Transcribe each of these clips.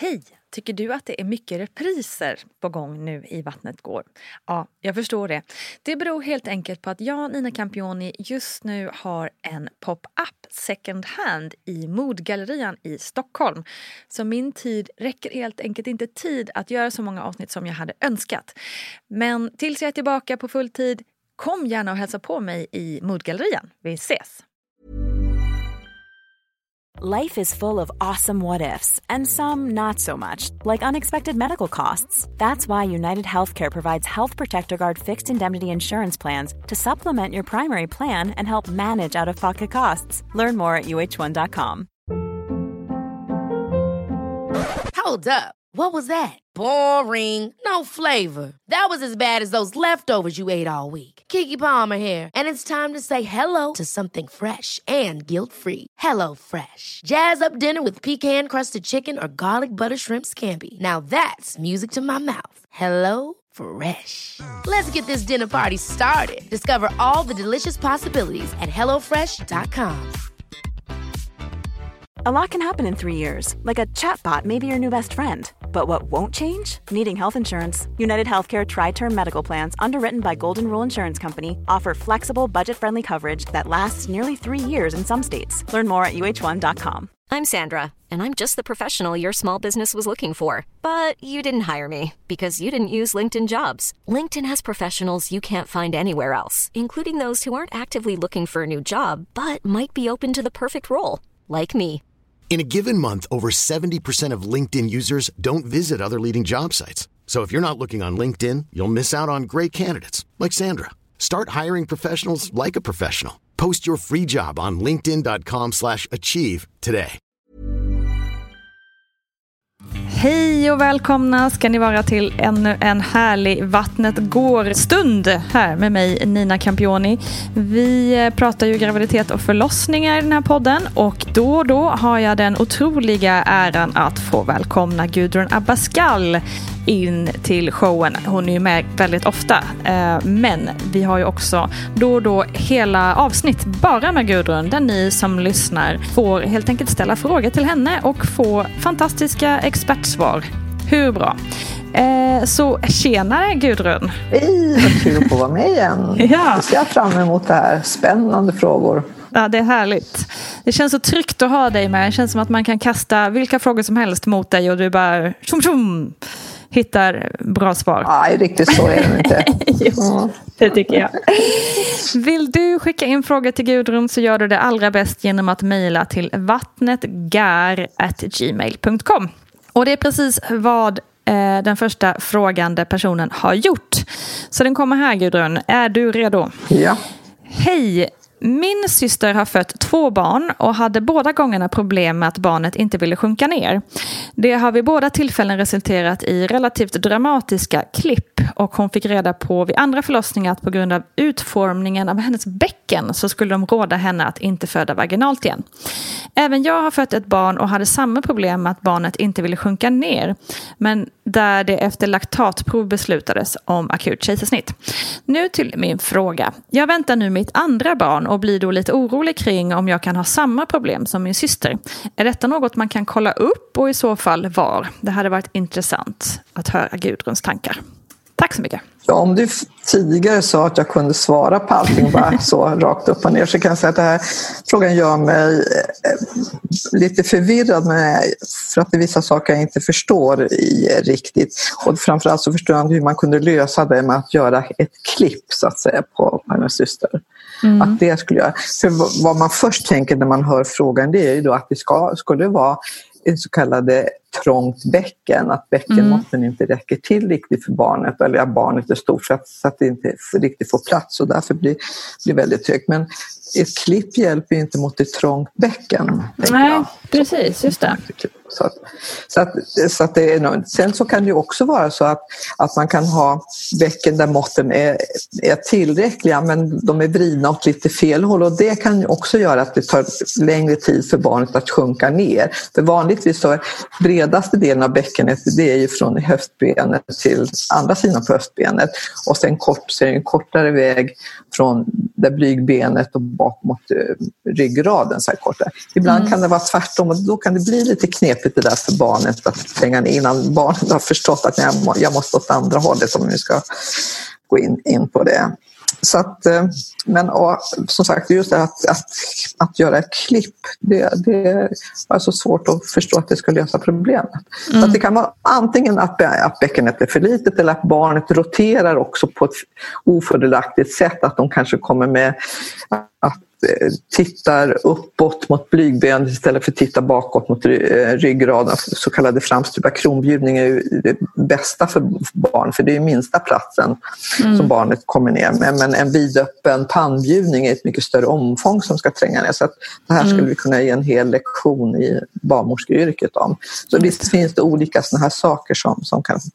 Hej! Tycker du att det är mycket repriser på gång nu i Vattnet går? Ja, jag förstår det. Det beror helt enkelt på att jag, Nina Campioni, just nu har en pop-up second hand i Modgallerian i Stockholm. Så min tid räcker helt enkelt inte tid att göra så många avsnitt som jag hade önskat. Men tills jag är tillbaka på full tid, kom gärna och hälsa på mig i Modgallerian. Vi ses! Life is full of awesome what-ifs, and some not so much, like unexpected medical costs. That's why United Healthcare provides Health Protector Guard fixed indemnity insurance plans to supplement your primary plan and help manage out-of-pocket costs. Learn more at uh1.com. Hold up. What was that? Boring. No flavor. That was as bad as those leftovers you ate all week. Keke Palmer here, and it's time to say hello to something fresh and guilt-free. Hello Fresh. Jazz up dinner with pecan-crusted chicken or garlic butter shrimp scampi. Now that's music to my mouth. Hello Fresh. Let's get this dinner party started. Discover all the delicious possibilities at hellofresh.com. A lot can happen in 3 years, like a chatbot may be your new best friend. But what won't change? Needing health insurance. United Healthcare Tri-Term Medical Plans, underwritten by Golden Rule Insurance Company, offer flexible, budget-friendly coverage that lasts nearly 3 years in some states. Learn more at uh1.com. I'm Sandra, and I'm just the professional your small business was looking for. But you didn't hire me, because you didn't use LinkedIn Jobs. LinkedIn has professionals you can't find anywhere else, including those who aren't actively looking for a new job, but might be open to the perfect role, like me. In a given month, over 70% of LinkedIn users don't visit other leading job sites. So if you're not looking on LinkedIn, you'll miss out on great candidates like Sandra. Start hiring professionals like a professional. Post your free job on linkedin.com/achieve today. Hej och välkomna ska ni vara till ännu en härlig Vattnet går-stund här med mig, Nina Campioni. Vi pratar ju graviditet och förlossningar i den här podden, och då har jag den otroliga äran att få välkomna Gudrun Abascal in till showen. Hon är ju med väldigt ofta, men vi har ju också då hela avsnitt bara med Gudrun, där ni som lyssnar får helt enkelt ställa frågor till henne och få fantastiska expertsvar. Hur bra? Så tjenare Gudrun. Hej, vad kul att få vara med igen. Ja. Jag ser fram emot det här. Spännande frågor. Ja, det är härligt. Det känns så tryggt att ha dig med. Det känns som att man kan kasta vilka frågor som helst mot dig och du bara tjum, hittar bra svar. Nej, riktigt så är det inte. Jo, det tycker jag. Vill du skicka in frågor till Gudrun så gör du det allra bäst genom att mejla till vattnetgar@gmail.com. Och det är precis vad den första frågande personen har gjort. Så den kommer här, Gudrun. Är du redo? Ja. Hej! Min syster har fött 2 barn och hade båda gångerna problem med att barnet inte ville sjunka ner. Det har vid båda tillfällen resulterat i relativt dramatiska klipp, och hon fick reda på vid andra förlossningar att på grund av utformningen av hennes bäcken så skulle de råda henne att inte föda vaginalt igen. Även jag har fött ett barn och hade samma problem med att barnet inte ville sjunka ner, men där det efter laktatprov beslutades om akut kejsarsnitt. Nu till min fråga. Jag väntar nu mitt andra barn och blir då lite orolig kring om jag kan ha samma problem som min syster. Är detta något man kan kolla upp, och i så fall var? Det hade varit intressant att höra Gudruns tankar. Tack så mycket. Ja, om du tidigare sa att jag kunde svara på allting bara så rakt upp och ner, så kan jag säga att den här frågan gör mig lite förvirrad, för att det är vissa saker jag inte förstår riktigt. Och framförallt så förstår jag hur man kunde lösa det med att göra ett klipp så att säga på hennes syster. Att det skulle göra. För vad man först tänker när man hör frågan, det är ju då att det skulle vara en så kallade trångt bäcken, att bäckenmåtten inte räcker till riktigt för barnet, eller att barnet är stort så att det inte riktigt får plats, och därför blir väldigt högt. Men ett klipp hjälper ju inte mot ett trångt bäcken. Nej, precis, just det. Så att det är, sen så kan det ju också vara så att man kan ha bäcken där måtten är tillräckliga, men de är vridna åt lite fel håll, och det kan ju också göra att det tar längre tid för barnet att sjunka ner. För vanligtvis så bredaste delen av bäckenet, det är ju från höftbenet till andra sidan på höftbenet. Och sen så är det en kortare väg från där blygbenet och bak mot ryggraden. Så här korta. Ibland kan det vara tvärtom och då kan det bli lite knepigt det där för barnet att tränga ner innan barnet har förstått att jag måste åt andra hållet om vi ska gå in på det. Så att, men som sagt, just det att göra ett klipp, det är så svårt att förstå att det ska lösa problemet. Så att det kan vara antingen att bäckenet är för litet eller att barnet roterar också på ett ofördelaktigt sätt, att de kanske kommer med att tittar uppåt mot blygbenet istället för att titta bakåt mot ryggraden. Så kallade framstupa kronbjudning är ju det bästa för barn, för det är minsta platsen som barnet kommer ner med. Men en vidöppen pannbjudning är ett mycket större omfång som ska tränga ner. Så att det här skulle vi kunna ge en hel lektion i barnmorskeyrket om. Så visst finns det olika såna här saker som kan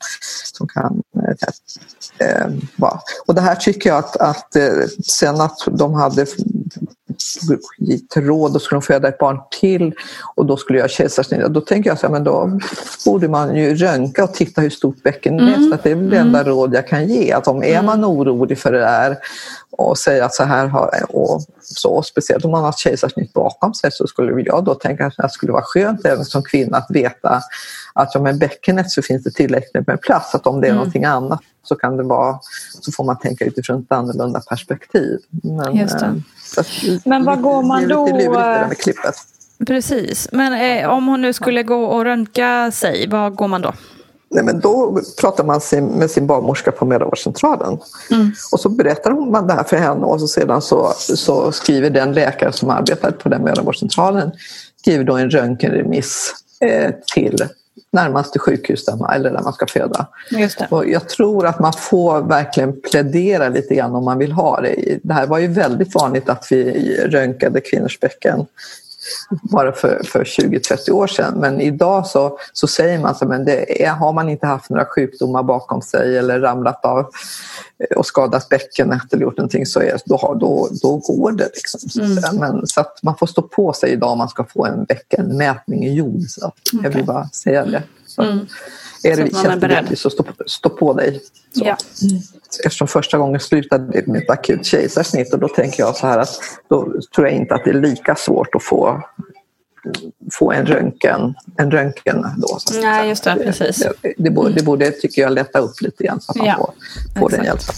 vara. Och det här tycker jag att sen att de hade gett råd och skulle de föda ett barn till och då skulle jag kejsarsnitt. Då tänker jag så här, men då borde man ju röntga och titta hur stort bäcken är. Att det är väl det enda råd jag kan ge. Att om är man orolig för det där och säga att så här och så, speciellt om man har kejsarsnitt bakom sig, så skulle jag då tänka att det skulle vara skönt även som kvinna att veta att med bäckenet så finns det tillräckligt med plats, att om det är någonting annat så kan det vara, så får man tänka utifrån ett annorlunda perspektiv. Men vad går man då? Det är lite lurigt det där med klippet. Precis, men om hon nu skulle gå och röntga sig, vad går man då? Nej, men då pratar man med sin barnmorska på mödravårdscentralen. Och så berättar man det här för henne och så sedan så skriver den läkare som arbetar på den mödravårdscentralen skriver då en röntgenremiss till närmaste sjukhus där man ska föda. Just det. Och jag tror att man får verkligen plädera lite grann om man vill ha det. Det här var ju väldigt vanligt att vi röntgade kvinnors bäcken bara för 20-30 år sedan. Men idag så säger man så, men har man inte haft några sjukdomar bakom sig eller ramlat av och skadat bäckenet eller gjort någonting, så då går det liksom. Men så att man får stå på sig idag om man ska få en bäckenmätning i jord. Så jag vill bara säga det. Så är det känns det så stå på dig. Så. Ja. Eftersom första gången slutade med ett akut kejsarsnitt, och då tänker jag så här att då tror jag inte att det är lika svårt att få en röntgen då. Så Nej, just det, precis. Det borde tycker jag lätta upp lite grann så att man får den hjälpen.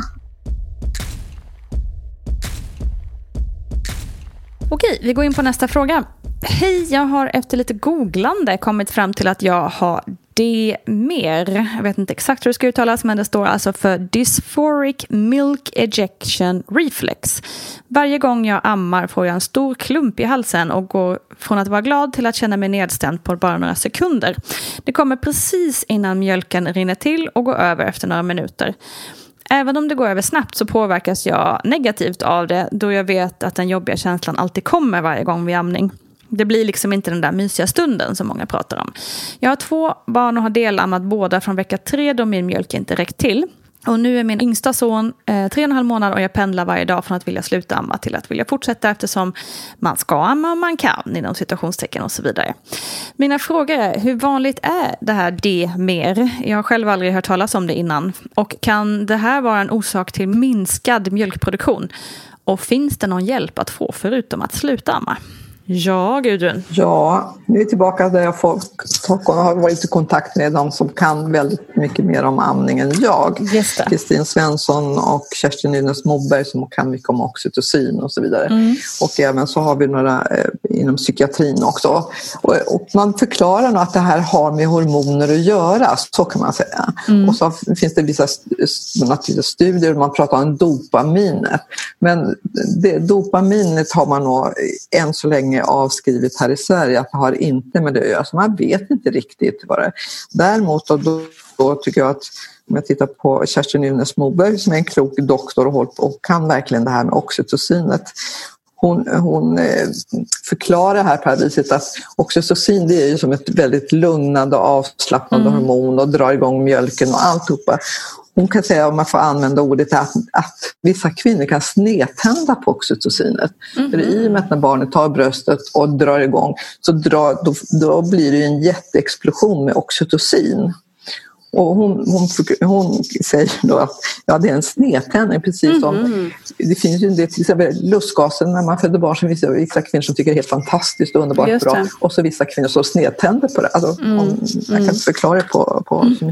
Okej, vi går in på nästa fråga. Hej, jag har efter lite googlande kommit fram till att jag har D-mer. Jag vet inte exakt hur det ska uttalas, men det står alltså för Dysphoric Milk Ejection Reflex. Varje gång jag ammar får jag en stor klump i halsen och går från att vara glad till att känna mig nedstämd på bara några sekunder. Det kommer precis innan mjölken rinner till och går över efter några minuter. Även om det går över snabbt så påverkas jag negativt av det, då jag vet att den jobbiga känslan alltid kommer varje gång vid amning. Det blir liksom inte den där mysiga stunden som många pratar om. Jag har 2 barn och har delammat båda från vecka 3 då min mjölk inte räckt till. Och nu är min yngsta son 3,5 månader och jag pendlar varje dag från att vilja sluta amma till att vilja fortsätta, eftersom man ska amma och man kan inom situationstecken och så vidare. Mina frågor är, hur vanligt är det här D-mer? Jag har själv aldrig hört talas om det innan. Och kan det här vara en orsak till minskad mjölkproduktion? Och finns det någon hjälp att få förutom att sluta amma? Ja, Gudrun. Ja, nu är vi tillbaka där jag har varit i kontakt med dem som kan väldigt mycket mer om amning än jag. Kristin Svensson och Kerstin Nynäs Moberg som kan mycket om oxytocin och så vidare. Och även så har vi några inom psykiatrin också. Och man förklarar nog att det här har med hormoner att göra, så kan man säga. Och så finns det vissa studier där man pratar om dopaminet. Men dopaminet har man nog än så länge avskrivit här i Sverige att det har inte med det att göra, så man vet inte riktigt vad det är. Däremot då tycker jag att om jag tittar på Kerstin Nynäs Moberg som är en klok doktor och kan verkligen det här med oxytocinet. Hon förklarar här på det här viset att oxytocin, det är ju som ett väldigt lugnande och avslappnande hormon och drar igång mjölken och alltihopa. hon kan säga, om man får använda ordet, att vissa kvinnor kan snedtända på oxytocinet. För i och med att när barnet tar bröstet och drar igång så då blir det en jätteexplosion med oxytocin. Och hon säger då att det är en snedtändning, precis som det finns ju till exempel lustgasen när man föder barn, som vissa kvinnor som tycker det är helt fantastiskt och underbart bra, och så vissa kvinnor som snedtänder på det. Alltså, jag kan inte förklara på så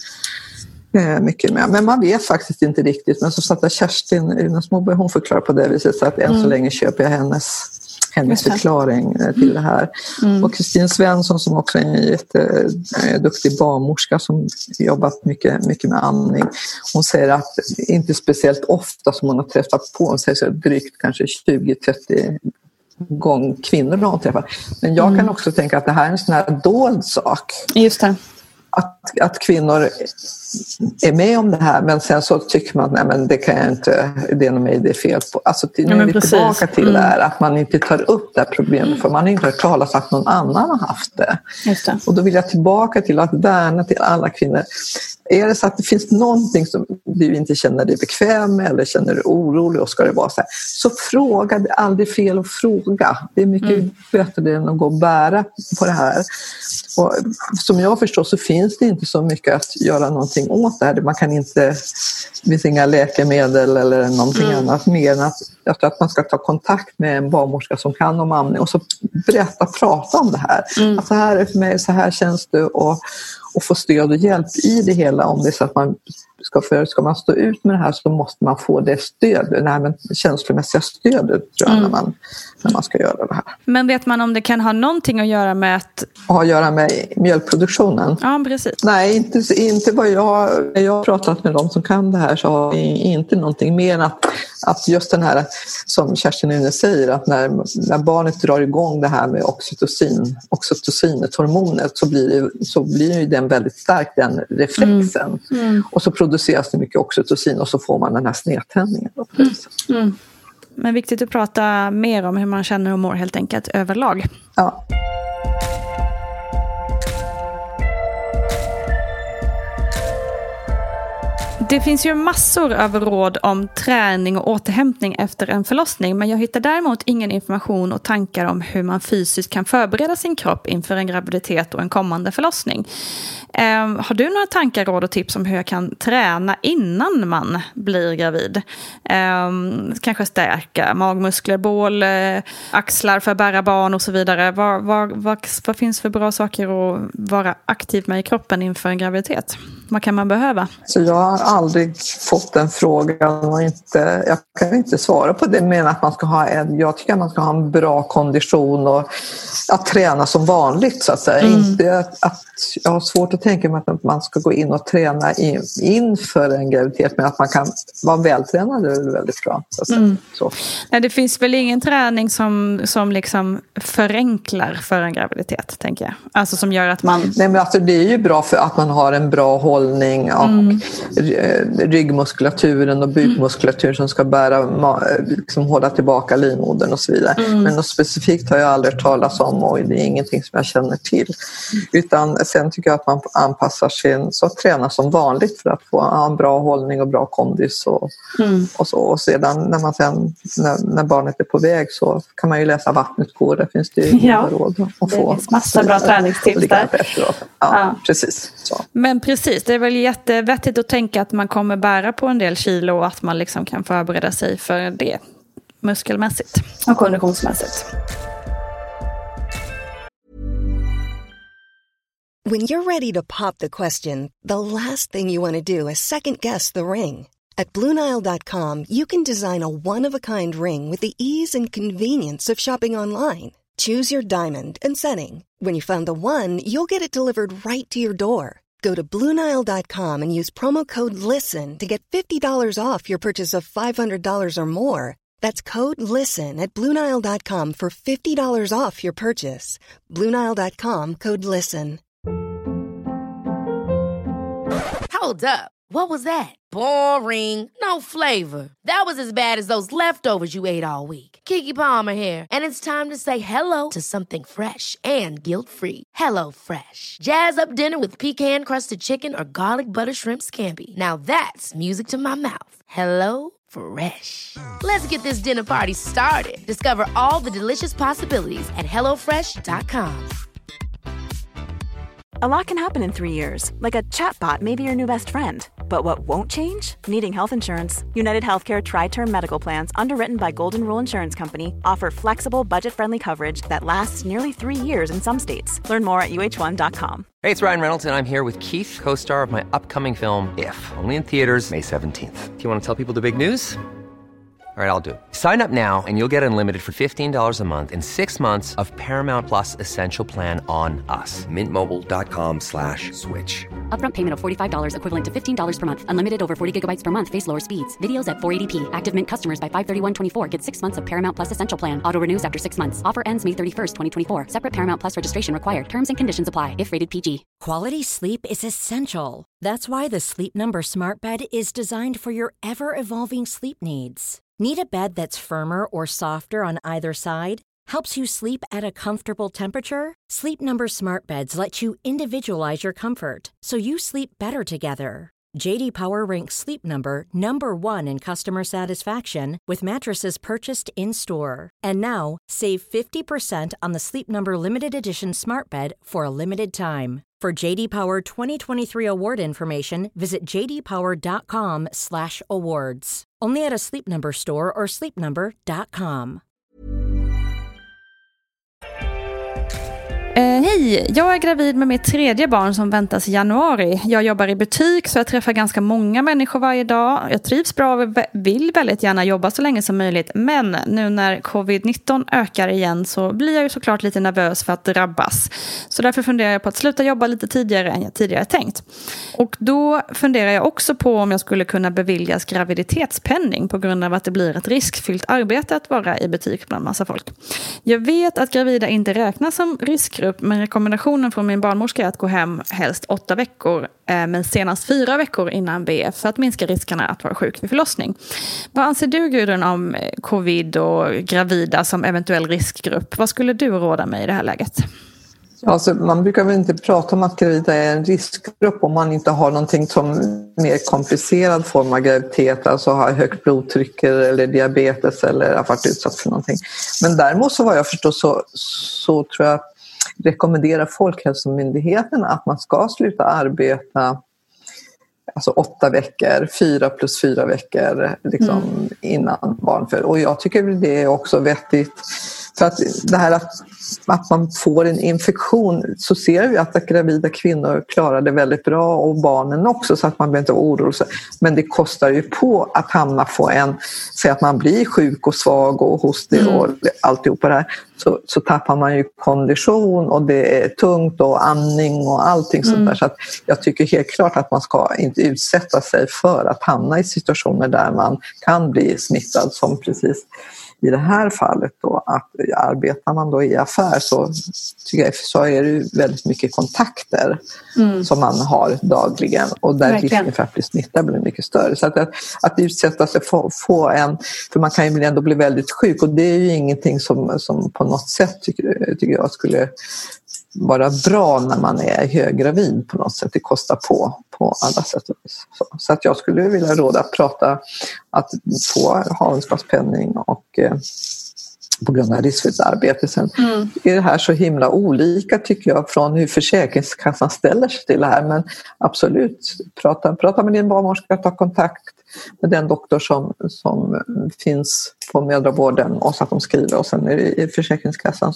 mycket mer. Men man vet faktiskt inte riktigt. Men så satt där Kerstin Småberg, hon förklarar på det viset, så att än så länge köper jag hennes förklaring till det här. Och Kristin Svensson, som också är en jätteduktig barnmorska som jobbat mycket med amning, hon säger att inte speciellt ofta som hon har träffat på, hon säger så drygt kanske 20-30 gånger kvinnor har hon träffat. Men jag kan också tänka att det här är en sån här dold sak. Just det. Att kvinnor är med om det här, men sen så tycker man att nej, men det kan jag inte, det är nog mig det är fel på. Alltså nu är vi tillbaka till det här, att man inte tar upp det här problemet, för man har inte hört talas om att någon annan har haft det. Just det. Och då vill jag tillbaka till att värna till alla kvinnor. Är det så att det finns någonting som du inte känner dig bekväm med eller känner dig orolig och ska det vara så fråga, det är aldrig fel att fråga. Det är mycket bättre än att gå och bära på det här. Och som jag förstår så finns det inte så mycket att göra någonting åt det här. Man kan inte, det finns inga läkemedel eller någonting annat mer än att jag tror att man ska ta kontakt med en barnmorska som kan om amning och så prata om det här. Att så här är det för mig, så här känns det, och få stöd och hjälp i det hela. Om det är så att man ska man stå ut med det här så måste man få det stödet, känslomässiga stödet tror jag, när man ska göra det här. Men vet man om det kan ha någonting att göra med mjölkproduktionen? Ja, precis. Nej, inte vad jag har pratat med dem som kan det här, så har inte någonting mer än att just den här, som Kerstin nu säger, att när barnet drar igång det här med oxytocinet, hormonet, så blir ju den väldigt stark, den reflexen. Och så produceras det mycket oxytocin och så får man den här snedtändningen. Men viktigt att prata mer om hur man känner och mår helt enkelt överlag. Ja. Det finns ju massor av råd om träning och återhämtning efter en förlossning, men jag hittar däremot ingen information och tankar om hur man fysiskt kan förbereda sin kropp inför en graviditet och en kommande förlossning. Har du några tankar, råd och tips om hur jag kan träna innan man blir gravid? Kanske stärka magmuskler, bål, axlar för att bära barn och så vidare. Vad finns för bra saker att vara aktiv med i kroppen inför en graviditet? Vad kan man behöva? Så jag har aldrig fått den frågan och jag kan inte svara på det, men att man ska jag tycker att man ska ha en bra kondition och att träna som vanligt så att säga. Inte att jag har svårt att tänka mig att man ska gå in och träna inför en graviditet, men att man kan vara vältränad är väldigt bra. Så att säga. Så. Nej, det finns väl ingen träning som liksom förenklar för en graviditet, tänker jag. Alltså som gör att man... Nej, men alltså det är ju bra för att man har en bra hållning och ryggmuskulaturen och bukmuskulaturen som ska liksom hålla tillbaka livmodern och så vidare. Men något specifikt har jag aldrig talat om och det är ingenting som jag känner till. Utan sen tycker jag att man anpassar sin, så att träna som vanligt för att få en bra hållning och bra kondis och så. Och sedan när barnet är på väg så kan man ju läsa Vattnet går, där finns det ju råd att få. Det finns massa bra träningstips där. Ja, precis. Så. Men precis, det är väl jättevettigt att tänka att man kommer bära på en del kilo och att man liksom kan förbereda sig för det muskelmässigt och konditionsmässigt. When you're ready to pop the question, the last thing you want to do is second-guess the ring. At BlueNile.com, you can design a one-of-a-kind ring with the ease and convenience of shopping online. Choose your diamond and setting. When you find the one, you'll get it delivered right to your door. Go to BlueNile.com and use promo code LISTEN to get $50 off your purchase of $500 or more. That's code LISTEN at BlueNile.com for $50 off your purchase. BlueNile.com, code LISTEN. Hold up. What was that? Boring. No flavor. That was as bad as those leftovers you ate all week. Keke Palmer here, and it's time to say hello to something fresh and guilt-free. Hello Fresh. Jazz up dinner with pecan-crusted chicken or garlic butter shrimp scampi. Now that's music to my mouth. Hello Fresh. Let's get this dinner party started. Discover all the delicious possibilities at hellofresh.com. A lot can happen in 3 years, like a chatbot may be your new best friend. But what won't change? Needing health insurance. United Healthcare Tri-Term Medical Plans, underwritten by Golden Rule Insurance Company, offer flexible, budget-friendly coverage that lasts nearly 3 years in some states. Learn more at uh1.com. Hey, it's Ryan Reynolds, and I'm here with Keith, co-star of my upcoming film, If, only in theaters May 17th. Do you want to tell people the big news? All right, I'll do it. Sign up now and you'll get unlimited for $15 a month and 6 months of Paramount Plus Essential Plan on us. MintMobile.com/switch. Upfront payment of $45 equivalent to $15 per month. Unlimited over 40 gigabytes per month. Face lower speeds. Videos at 480p. Active Mint customers by 531.24 get 6 months of Paramount Plus Essential Plan. Auto renews after 6 months. Offer ends May 31st, 2024. Separate Paramount Plus registration required. Terms and conditions apply if rated PG. Quality sleep is essential. That's why the Sleep Number Smart Bed is designed for your ever-evolving sleep needs. Need a bed that's firmer or softer on either side? Helps you sleep at a comfortable temperature? Sleep Number Smart Beds let you individualize your comfort, so you sleep better together. J.D. Power ranks Sleep Number #1 in customer satisfaction with mattresses purchased in-store. And now, save 50% on the Sleep Number Limited Edition Smart Bed for a limited time. For J.D. Power 2023 award information, visit jdpower.com/awards. Only at a Sleep Number store or sleepnumber.com. Hej, jag är gravid med mitt 3:e barn som väntas i januari. Jag jobbar i butik så jag träffar ganska många människor varje dag. Jag trivs bra och vill väldigt gärna jobba så länge som möjligt. Men nu när covid-19 ökar igen så blir jag ju såklart lite nervös för att drabbas. Så därför funderar jag på att sluta jobba lite tidigare än jag tidigare tänkt. Och då funderar jag också på om jag skulle kunna beviljas graviditetspenning på grund av att det blir ett riskfyllt arbete att vara i butik bland massa folk. Jag vet att gravida inte räknas som riskgrupp, men rekommendationen från min barnmorska är att gå hem helst 8 veckor, men senast 4 veckor innan BF för att minska riskerna att vara sjuk vid förlossning. Vad anser du, Gudrun, om covid och gravida som eventuell riskgrupp? Vad skulle du råda mig i det här läget? Alltså, man brukar väl inte prata om att gravida är en riskgrupp om man inte har någonting som mer komplicerad form av graviditet, alltså har högt blodtryck eller diabetes eller har varit utsatt för någonting. Men däremot så vad jag förstår så tror jag rekommenderar Folkhälsomyndigheten att man ska sluta arbeta alltså 8 veckor, 4 + 4 veckor liksom, innan barnföd. Och jag tycker det är också vettigt. För att det här att man får en infektion, så ser vi att gravida kvinnor klarar det väldigt bra och barnen också, så att man behöver inte oroa sig. Men det kostar ju på att säg att man blir sjuk och svag och hostig och alltihopa det här. Så tappar man ju kondition och det är tungt och andning och allting sånt där. Så att jag tycker helt klart att man ska inte utsätta sig för att hamna i situationer där man kan bli smittad, som precis i det här fallet då, att arbetar man då i affär så tycker jag så är det ju väldigt mycket kontakter som man har dagligen, och där risken för att bli smittad blir mycket större. Så att utsätta sig för man kan ju ändå bli väldigt sjuk, och det är ju ingenting som på något sätt tycker jag skulle vara bra när man är höggravid på något sätt. Det kostar på alla sätt och vis. Så att jag skulle vilja råda att få havandeskapspenning och på grund av riskfyllt arbete. Sen är det här så himla olika, tycker jag, från hur Försäkringskassan ställer sig till det här. Men absolut, prata med din barnmorska, ta kontakt med den doktor som finns på mödravården, och så att de skriver, och sen är det Försäkringskassan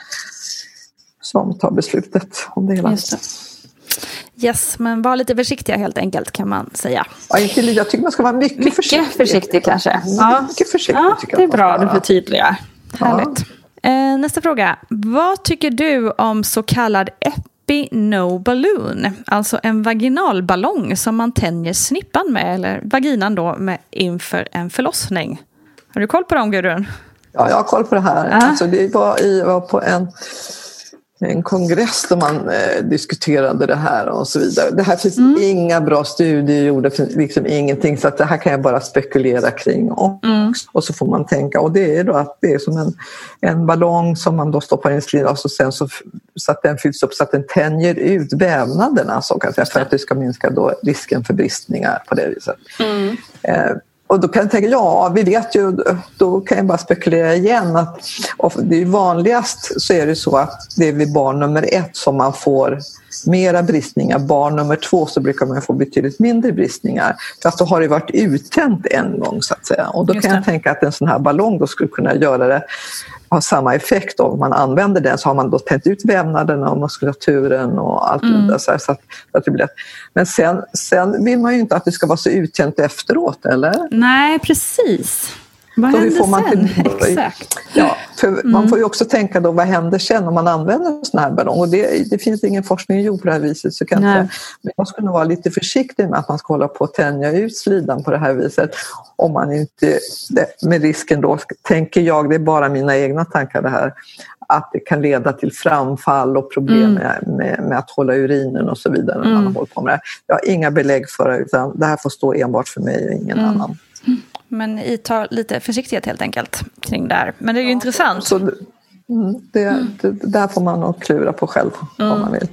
som tar beslutet om det hela. Just det. Yes, men var lite försiktiga helt enkelt, kan man säga. Ja, jag tycker man ska vara mycket försiktig kanske. Mycket försiktig, tycker jag. Det är bra, du förtydligar. Härligt. Nästa fråga. Vad tycker du om så kallad Epi-No Balloon? Alltså en vaginalballong som man tänjer snippan med, eller vaginan då, med inför en förlossning. Har du koll på dem, Gudrun? Ja, jag har koll på det här. Alltså, det var på en kongress där man diskuterade det här och så vidare. Det här finns inga bra studier gjorda, liksom ingenting, så att det här kan jag bara spekulera kring. Och så får man tänka, och det är då att det är som en ballong som man då stoppar in slidan och sen så att den fylls upp så att den tänjer ut vävnaderna, så kan jag säga, för att det ska minska då risken för bristningar på det viset. Och då kan jag tänka, ja, vi vet ju, då kan jag bara spekulera igen att det är vanligast så är det så att det är vid barn nummer 1 som man får mera bristningar. Barn nummer 2 så brukar man få betydligt mindre bristningar. För att då har det varit uttänt en gång, så att säga. Och då kan jag tänka att en sån här ballong då skulle kunna göra det, ha samma effekt. Om man använder den så har man då tänt ut vävnaderna och muskulaturen och allt det där, så att det blir lätt. Men sen vill man ju inte att det ska vara så uttänt efteråt, eller? Nej, precis. Vad händer sen? Exakt. Ja, för man får ju också tänka då, vad händer sen om man använder en sån här ballong? Och det finns ingen forskning gjord på det här viset, så kan jag, men jag skulle nog vara lite försiktig med att man ska hålla på att tänja ut slidan på det här viset. Om man inte, med risken då, tänker jag, det är bara mina egna tankar det här, att det kan leda till framfall och problem med att hålla urinen och så vidare när man håller på med det. Jag har inga belägg för det, utan det här får stå enbart för mig och ingen annan. Men ta lite försiktighet helt enkelt kring det här. Men det är ju intressant. Så det där får man nog klura på själv om man vill.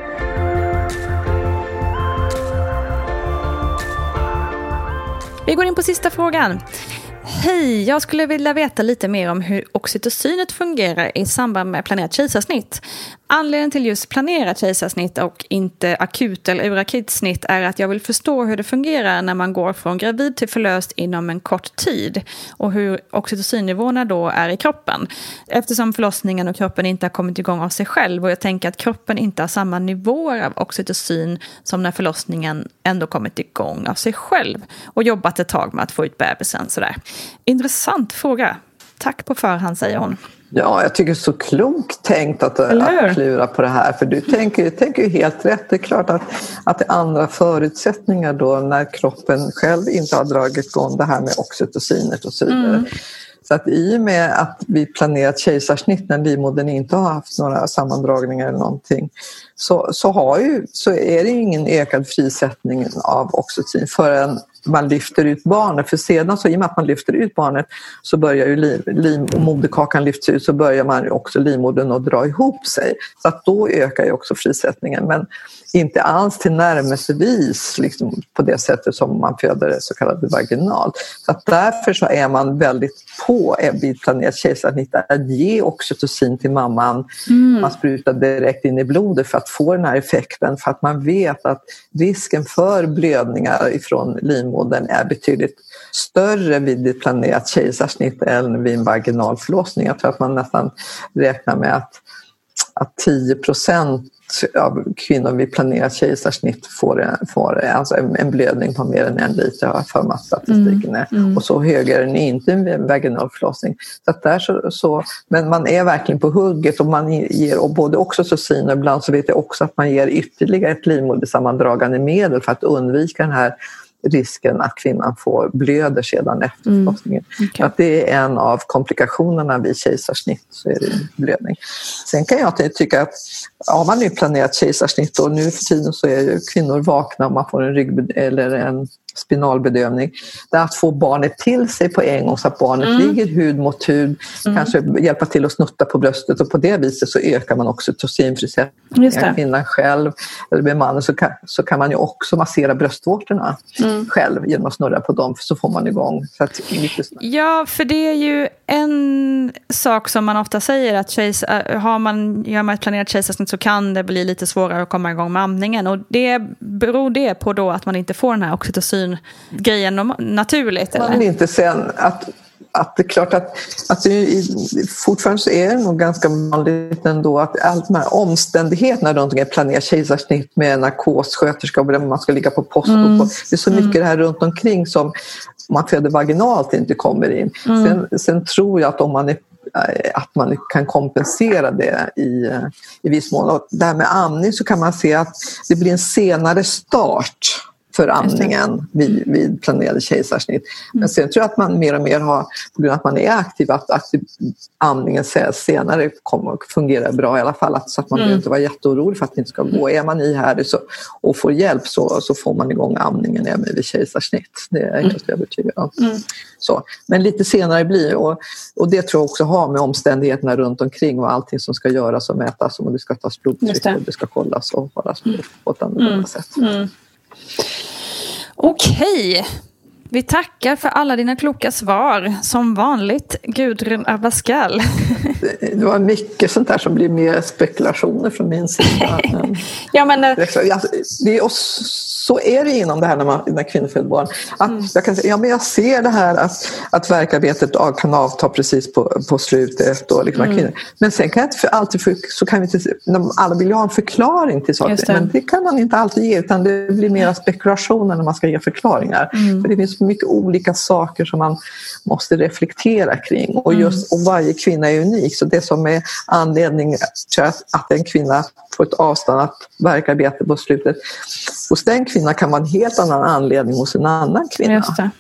Vi går in på sista frågan. Hej, jag skulle vilja veta lite mer om hur oxytocinet fungerar i samband med planerat kejsarsnitt. Anledningen till just planerat kejsarsnitt och inte akut eller urakut snitt är att jag vill förstå hur det fungerar när man går från gravid till förlöst inom en kort tid och hur oxytocinnivåerna då är i kroppen. Eftersom förlossningen och kroppen inte har kommit igång av sig själv, och jag tänker att kroppen inte har samma nivåer av oxytocin som när förlossningen ändå kommit igång av sig själv och jobbat ett tag med att få ut bebisen sådär. Intressant fråga. Tack på förhand, säger hon. Ja, jag tycker det är så klokt tänkt att klura på det här. För du tänker ju helt rätt. Det är klart att det är andra förutsättningar då när kroppen själv inte har dragit igång det här med oxytocinet och så vidare. Så att i och med att vi planerat kejsarsnitt när livmodern inte har haft några sammandragningar eller någonting, så är det ingen ökad frisättning av oxytocin förrän man lyfter ut barnet. För sedan så i och med att man lyfter ut barnet så börjar ju moderkakan lyfts ut, så börjar man ju också livmodern att dra ihop sig. Så att då ökar ju också frisättningen, men inte alls till närmelsevis liksom på det sättet som man föder det så kallade vaginalt. Så att därför så är man väldigt på vid planerat kejsarsnitt att ge oxytocin till mamman. Man sprutar direkt in i blodet för att få den här effekten, för att man vet att risken för blödningar ifrån livmodern är betydligt större vid ett planerat kejsarsnitt än vid en vaginal förlossning. Jag tror att man nästan räknar med att 10% av kvinnor vid planerat kejsarsnitt får alltså en blödning på mer än 1 liter för att statistiken är. Och så högre är den inte vid en vaginal förlossning. Så att där så, men man är verkligen på hugget, och man ger och både oxytocin, och ibland så vet jag också att man ger ytterligare ett livmodersammandragande medel för att undvika den här risken att kvinnan får blöder sedan efter förlossningen. Okay. Att det är en av komplikationerna vid kejsarsnitt, så är det blödning. Sen kan jag tycka att har man nu planerat kejsarsnitt, och nu för tiden så är ju kvinnor vakna om man får en rygg eller en spinalbedövning, det är att få barnet till sig på en gång så att barnet ligger hud mot hud, kanske hjälpa till att snutta på bröstet, och på det viset så ökar man också oxytocinfrisättningen. Kvinnan själv eller med mannen så kan man ju också massera bröstvårtorna själv genom att snurra på dem, så får man igång. Så att ja, för det är ju en sak som man ofta säger, att gör man ett planerat kejsarsnitt så kan det bli lite svårare att komma igång med amningen, och det beror det på då att man inte får den här oxytocin-grejen naturligt? Eller? Man vill inte sen att det är klart att det fortfarande så är det nog ganska vanligt ändå att allt de här omständigheterna runt omkring planerat kejsarsnitt med narkossköterska och man ska ligga på post och det är så mycket det här runt omkring som man föder vaginalt inte kommer in. Sen tror jag att om man kan kompensera det i viss mån. Och det här med amning så kan man se att det blir en senare start för amningen vid planerade kejsarsnitt. Men sen tror jag att man mer och mer har, på grund av att man är aktiv, att amningen senare kommer att fungera bra i alla fall. Så att man behöver inte vara jätteorolig för att det inte ska gå. Är man ihärdig och får hjälp så får man igång amningen även vid kejsarsnitt. Det är jag helt övertygad om. Så. Men lite senare blir och det tror jag också har med omständigheterna runt omkring och allting som ska göras och mätas, och det ska tas blodtryck och det ska kollas och hållas på ett annorlunda sätt. Okej. Vi tackar för alla dina kloka svar. Som vanligt, Gudrun Abascal. Det var mycket sånt där som blir mer spekulationer från min sida. Ja, men det är så är det inom det här när kvinnor föder barn. Att jag kan säga, men jag ser det här att verkarbetet kan avta precis på slutet. Och liksom kvinnor. Men sen kan jag inte alltid, så kan vi inte, alla vill ju ha en förklaring till saker. Men det kan man inte alltid ge, utan det blir mer spekulationer när man ska ge förklaringar. För det finns mycket olika saker som man måste reflektera kring. Och varje kvinna är unik. Så det som är anledning till att en kvinna får ett avstannat verkarbete på slutet, hos den kvinnan kan vara en helt annan anledning hos en annan kvinna. Just det.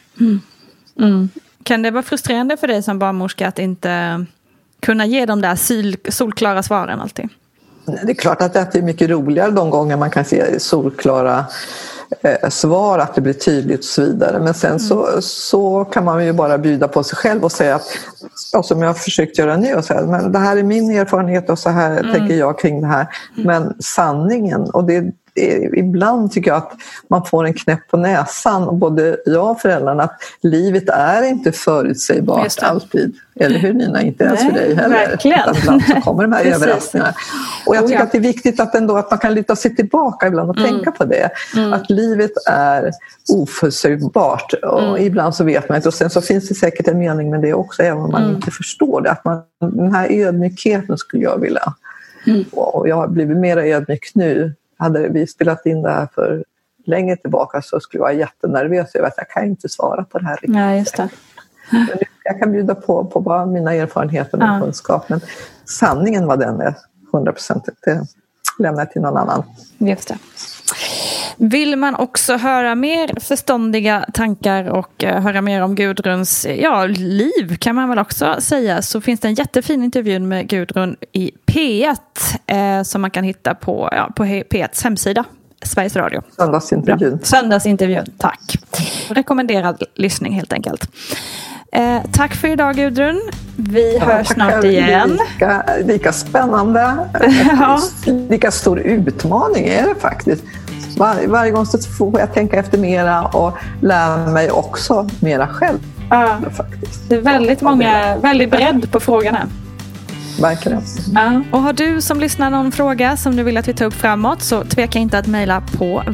Kan det vara frustrerande för dig som barnmorska att inte kunna ge de där solklara svaren alltid? Det är klart att det är mycket roligare de gånger man kan se solklara svar, att det blir tydligt och så vidare. Men sen så kan man ju bara bjuda på sig själv och säga att, som jag har försökt göra nu, och säga, men det här är min erfarenhet och så här tänker jag kring det här. Men sanningen, och ibland tycker jag att man får en knäpp på näsan, och både jag och föräldrarna, att livet är inte förutsägbart alltid. Eller hur, Nina? Inte ens för dig heller. Verkligen. Ibland så kommer de här överraskningarna. Och jag tycker att det är viktigt att man kan luta sig tillbaka ibland och tänka på det. Att livet är oförutsägbart. Och ibland så vet man inte. Och sen så finns det säkert en mening med det också, även om man inte förstår det. Den här ödmjukheten skulle jag vilja. Och jag har blivit mer ödmjuk nu. Hade vi spelat in det här för länge tillbaka så skulle jag vara jättenervös över att jag kan inte svara på det här riktigt. Ja, just det. Jag kan bjuda på bara mina erfarenheter och kunskap, men sanningen var den är 100%. Det lämnar jag till någon annan. Just det. Vill man också höra mer förståndiga tankar och höra mer om Gudruns liv, kan man väl också säga, så finns det en jättefin intervju med Gudrun i P1 som man kan hitta på P1s hemsida, Sveriges Radio. Söndagsintervjun, tack. Rekommenderad lyssning helt enkelt. Tack för idag, Gudrun. Vi hörs snart igen. Lika spännande. Lika stor utmaning är det faktiskt. Varje gång så får jag tänka efter mera och lära mig också mera själv. Faktiskt. Det är väldigt bredd på frågorna. Verkligen. Och har du som lyssnar någon fråga som du vill att vi tar upp framåt, så tveka inte att mejla på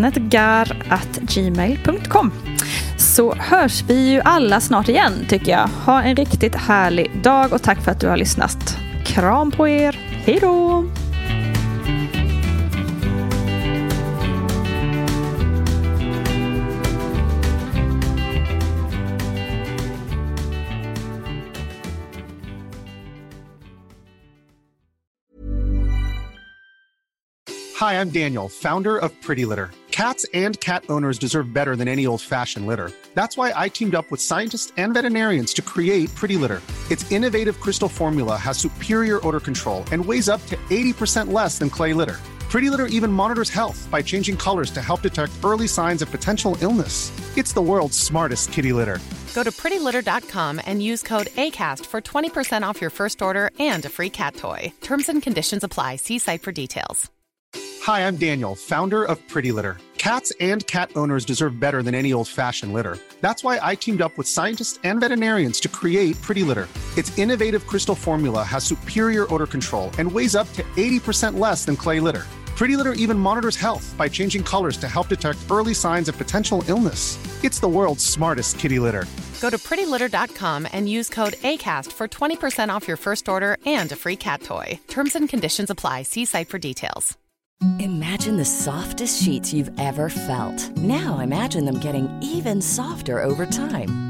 vattnetgar@gmail.com. Så hörs vi ju alla snart igen, tycker jag. Ha en riktigt härlig dag och tack för att du har lyssnat. Kram på er. Hej då! Hi, I'm Daniel, founder of Pretty Litter. Cats and cat owners deserve better than any old-fashioned litter. That's why I teamed up with scientists and veterinarians to create Pretty Litter. Its innovative crystal formula has superior odor control and weighs up to 80% less than clay litter. Pretty Litter even monitors health by changing colors to help detect early signs of potential illness. It's the world's smartest kitty litter. Go to prettylitter.com and use code ACAST for 20% off your first order and a free cat toy. Terms and conditions apply. See site for details. Hi, I'm Daniel, founder of Pretty Litter. Cats and cat owners deserve better than any old-fashioned litter. That's why I teamed up with scientists and veterinarians to create Pretty Litter. Its innovative crystal formula has superior odor control and weighs up to 80% less than clay litter. Pretty Litter even monitors health by changing colors to help detect early signs of potential illness. It's the world's smartest kitty litter. Go to prettylitter.com and use code ACAST for 20% off your first order and a free cat toy. Terms and conditions apply. See site for details. Imagine the softest sheets you've ever felt. Now imagine them getting even softer over time.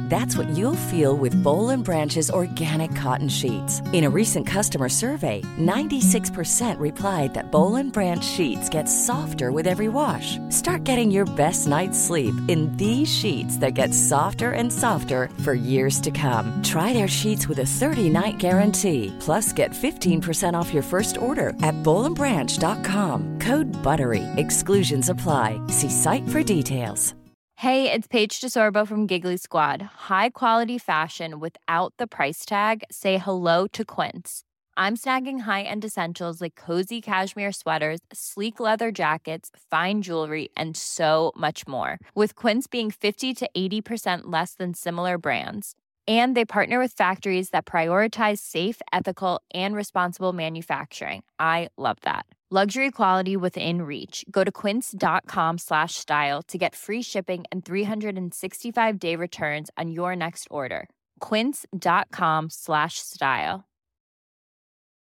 That's what you'll feel with Boll & Branch's organic cotton sheets. In a recent customer survey, 96% replied that Boll & Branch sheets get softer with every wash. Start getting your best night's sleep in these sheets that get softer and softer for years to come. Try their sheets with a 30-night guarantee. Plus, get 15% off your first order at bollandbranch.com. Code BUTTERY. Exclusions apply. See site for details. Hey, it's Paige DeSorbo from Giggly Squad. High quality fashion without the price tag. Say hello to Quince. I'm snagging high-end essentials like cozy cashmere sweaters, sleek leather jackets, fine jewelry, and so much more. With Quince being 50 to 80% less than similar brands. And they partner with factories that prioritize safe, ethical, and responsible manufacturing. I love that. Luxury quality within reach. Go to quince.com/style to get free shipping and 365-day returns on your next order. Quince.com/style.